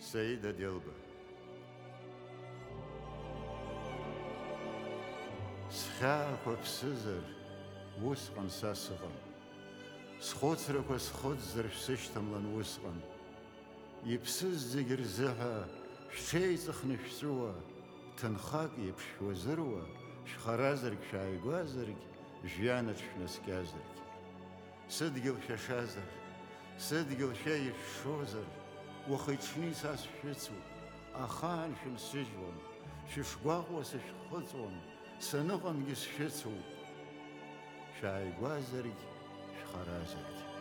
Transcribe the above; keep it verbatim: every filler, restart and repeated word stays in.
Саида Делба. Схьаақәа ԥсызар, усҟан са сыҟам. Схәыцрақәа схыҵзар шәсышьҭамлан усҟан. Иԥсыз зегь рзыҳәа шәҽеиҵыхны шәҵәуа, ҭынхак еиԥш шәуазыруа, шәхаразаргь шәааигәазаргь, жәҩанаҿ шәнаскьазаргь. Сыдгьыл шәашазар, сыдгьыл шәа ишәшозар, уахи-ҽни са сшәыцуп, ахаан шәынсыжьуам, шәышгәаҟуа сышәхыҵуам, саныҟамгьы сшәыцуп, шәааигәазаргь, шәхаразаргь.